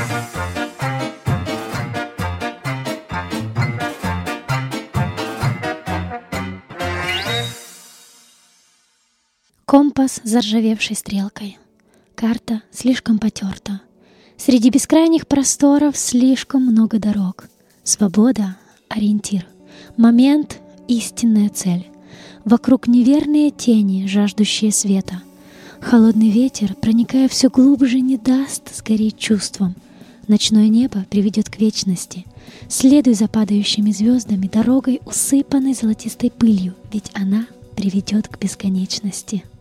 Компас с заржавевшей стрелкой. Карта слишком потерта. Среди бескрайних просторов слишком много дорог. Свобода — ориентир. Момент — истинная цель. Вокруг неверные тени, жаждущие света. Холодный ветер, проникая все глубже, не даст сгореть чувством. Ночное небо приведет к вечности. Следуй за падающими звездами, дорогой, усыпанной золотистой пылью, ведь она приведет к бесконечности.